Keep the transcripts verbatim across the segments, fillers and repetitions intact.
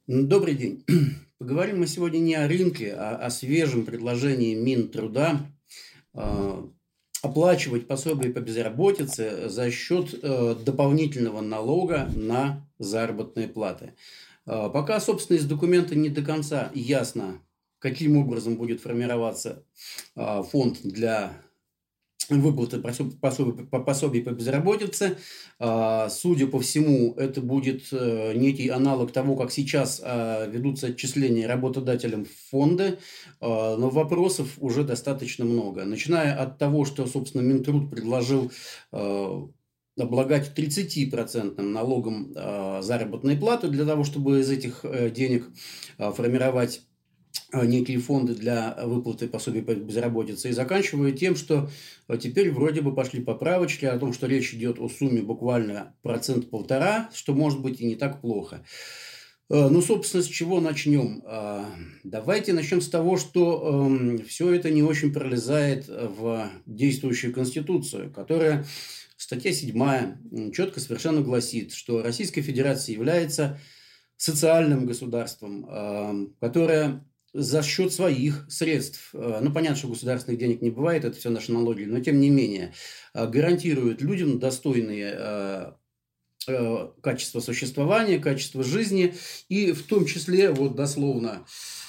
М, Добрый день. Поговорим мы сегодня не о рынке, а о свежем предложении Минтруда а, оплачивать пособие по безработице за счет э, дополнительного налога на заработные платы. А, Пока, собственно, из документа не до конца ясно, каким образом будет формироваться а, фонд для выплаты пособ- пособий по пособий по безработице. А, Судя по всему, это будет э, некий аналог того, как сейчас а, ведутся отчисления работодателям в фонды, а, но вопросов уже достаточно много. Начиная от того, что, собственно, Минтруд предложил а, облагать тридцатипроцентным налогом а, заработной платы для того, чтобы из этих э, денег а, формировать а, некие фонды для выплаты пособий по безработице, и заканчивая тем, что а, теперь вроде бы пошли поправочки о том, что речь идет о сумме буквально процент-полтора, что может быть и не так плохо. Э, Ну, собственно, с чего начнем? А, Давайте начнем с того, что все это не очень пролезает в действующую Конституцию, которая, статья седьмая, четко совершенно гласит, что Российская Федерация является социальным государством, э, которое за счет своих средств, э, ну, понятно, что государственных денег не бывает, это все наши налоги, но тем не менее, э, гарантирует людям достойные э, э, качество существования, качество жизни, и в том числе, вот дословно,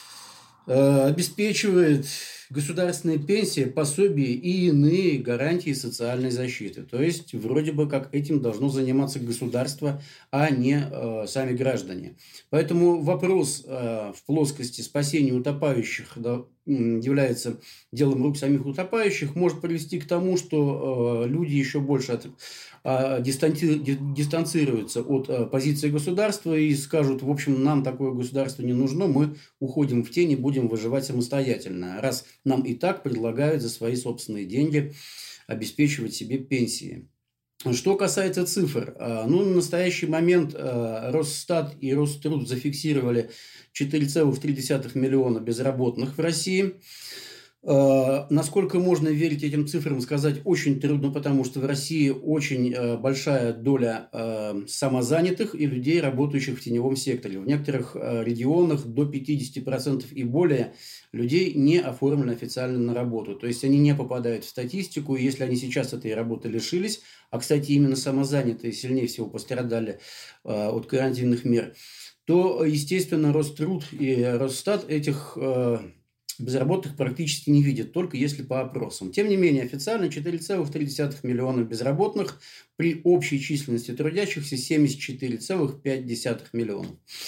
э, обеспечивает государственные пенсии, пособия и иные гарантии социальной защиты. То есть, вроде бы как этим должно заниматься государство, а не э, сами граждане. Поэтому вопрос э, в плоскости спасения утопающих, да, является делом рук самих утопающих, может привести к тому, что э, люди еще больше от, э, дистанци, дистанцируются от э, позиции государства и скажут: в общем, нам такое государство не нужно, мы уходим в тень и будем выживать самостоятельно, раз нам и так предлагают за свои собственные деньги обеспечивать себе пенсии. Что касается цифр, ну, на настоящий момент Росстат и Роструд зафиксировали четыре целых три десятых миллиона безработных в России. Насколько можно верить этим цифрам, сказать очень трудно, потому что в России очень большая доля самозанятых и людей, работающих в теневом секторе. В некоторых регионах до пятидесяти процентов и более людей не оформлены официально на работу. То есть они не попадают в статистику, и если они сейчас этой работы лишились, а, кстати, именно самозанятые сильнее всего пострадали от карантинных мер, то, естественно, Роструд и Росстат этих безработных практически не видят, только если по опросам. Тем не менее, официально четыре целых три десятых миллиона безработных при общей численности трудящихся семьдесят четыре целых пять десятых миллиона.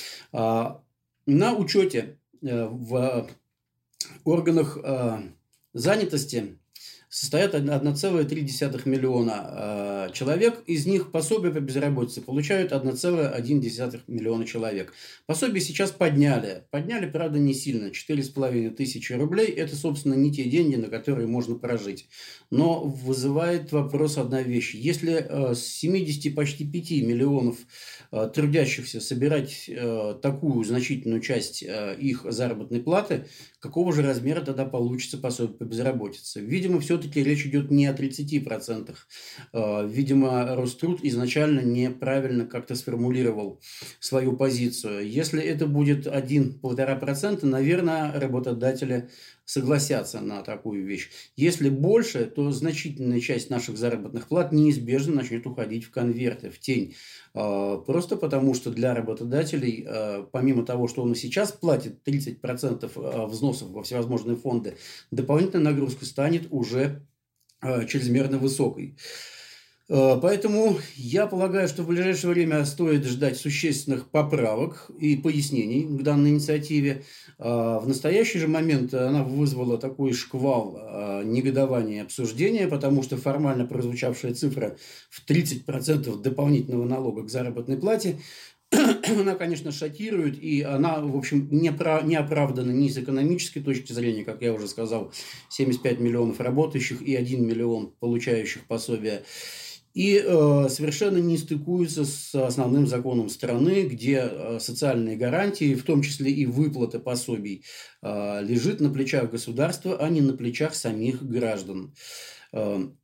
На учете в органах занятости состоят одна целая три десятых миллиона э, человек, из них пособие по безработице получают одна целая одна десятая миллиона человек. Пособие сейчас подняли. Подняли, правда, не сильно. четыре с половиной тысячи рублей – это, собственно, не те деньги, на которые можно прожить. Но вызывает вопрос одна вещь. Если э, с семидесяти почти пяти миллионов э, трудящихся собирать э, такую значительную часть э, их заработной платы, какого же размера тогда получится пособие по безработице? Видимо, все-таки речь идет не о тридцати процентах. Видимо, Роструд изначально неправильно как-то сформулировал свою позицию. Если это будет один-полтора процента, наверное, работодатели согласятся на такую вещь. Если больше, то значительная часть наших заработных плат неизбежно начнет уходить в конверты, в тень. Просто потому, что для работодателей, помимо того, что он и сейчас платит тридцать процентов взносов во всевозможные фонды, дополнительная нагрузка станет уже чрезмерно высокой. Поэтому я полагаю, что в ближайшее время стоит ждать существенных поправок и пояснений к данной инициативе. В настоящий же момент она вызвала такой шквал негодования и обсуждения, потому что формально прозвучавшая цифра в тридцать процентов дополнительного налога к заработной плате, она, конечно, шокирует, и она, в общем, не, про, не оправдана ни с экономической точки зрения, как я уже сказал, семьдесят пять миллионов работающих и один миллион получающих пособия, и э, совершенно не стыкуется с основным законом страны, где э, социальные гарантии, в том числе и выплата пособий, э, лежит на плечах государства, а не на плечах самих граждан. Э,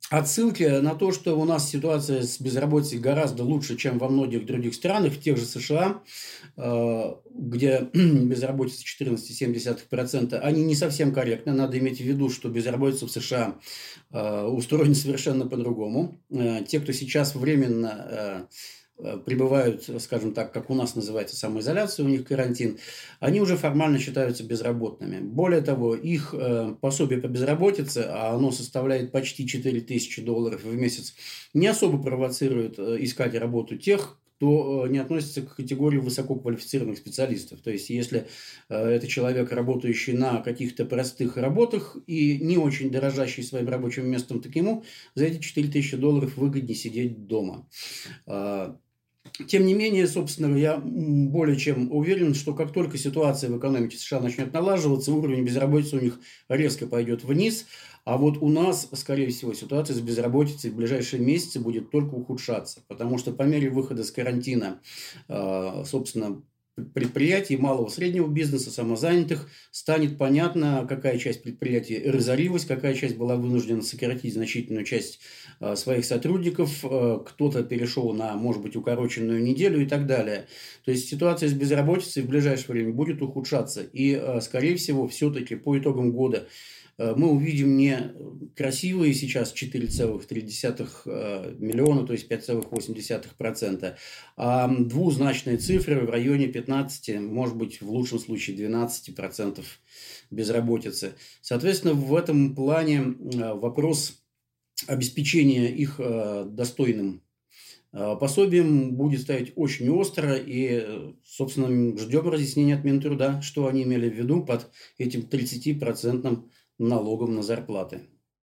отсылки на то, что у нас ситуация с безработицей гораздо лучше, чем во многих других странах, в тех же США, где безработица четырнадцать целых семь десятых процента, они не совсем корректны. Надо иметь в виду, что безработица в США устроена совершенно по-другому. Те, кто сейчас временно пребывают, скажем так, как у нас называется самоизоляция, у них карантин, они уже формально считаются безработными. Более того, их пособие по безработице, а оно составляет почти четыре тысячи долларов в месяц, не особо провоцирует искать работу тех, кто не относится к категории высококвалифицированных специалистов. То есть, если это человек, работающий на каких-то простых работах и не очень дорожащий своим рабочим местом, так ему за эти четыре тысячи долларов выгоднее сидеть дома. Тем не менее, собственно, я более чем уверен, что как только ситуация в экономике США начнет налаживаться, уровень безработицы у них резко пойдет вниз, а вот у нас, скорее всего, ситуация с безработицей в ближайшие месяцы будет только ухудшаться, потому что по мере выхода с карантина, собственно, предприятий малого и среднего бизнеса, самозанятых, станет понятно, какая часть предприятий разорилась, какая часть была вынуждена сократить значительную часть своих сотрудников, кто-то перешел на, может быть, укороченную неделю и так далее. То есть ситуация с безработицей в ближайшее время будет ухудшаться. И, скорее всего, все-таки по итогам года мы увидим не красивые сейчас четыре целых три десятых миллиона, то есть пять целых восемь десятых процента, а двузначные цифры в районе пятнадцати, может быть, в лучшем случае двенадцати процентов безработицы. Соответственно, в этом плане вопрос обеспечения их достойным пособием будет стоять очень остро, и, собственно, ждем разъяснения от Минтруда, что они имели в виду под этим тридцатипроцентным налогом на зарплаты.